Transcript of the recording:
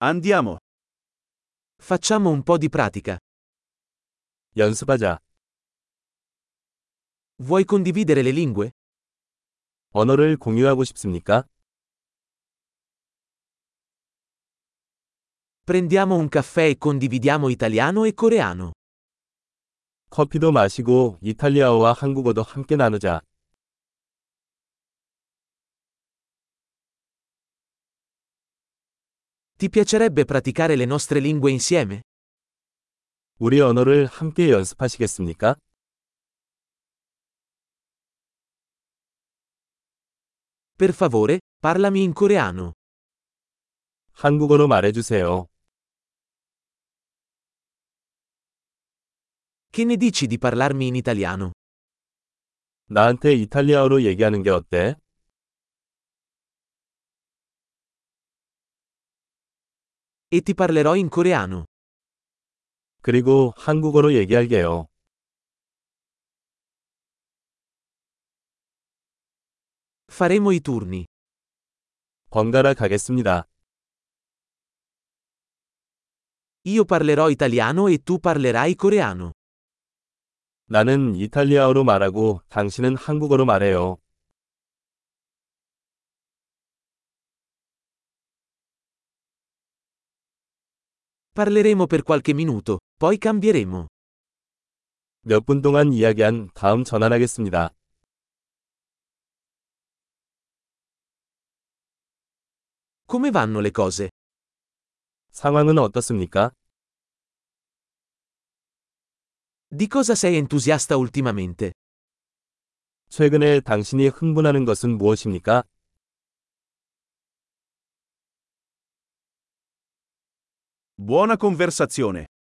Andiamo. Facciamo un po' di pratica. 연습하자. Vuoi condividere le lingue? 언어를 공유하고 싶습니까? Prendiamo un caffè e condividiamo italiano e coreano. 커피도 마시고 이탈리아어와 한국어도 함께 나누자. Ti piacerebbe praticare le nostre lingue insieme? 우리 언어를 함께 연습하시겠습니까? Per favore, parlami in coreano. 한국어로 말해주세요. Che ne dici di parlarmi in italiano? 나한테 이탈리아어로 얘기하는 게 어때? E ti parlerò in coreano. 그리고 한국어로 얘기할게요. Faremo i turni. 번갈아 가겠습니다. Io parlerò italiano e tu parlerai coreano. 나는 이탈리아어로 말하고 당신은 한국어로 말해요. Parleremo per qualche minuto, poi cambieremo. 몇 분 동안 이야기한 다음 전환하겠습니다. Come vanno le cose? 상황은 어떻습니까? Di cosa sei entusiasta ultimamente? 최근에 당신이 흥분하는 것은 무엇입니까? Buona conversazione.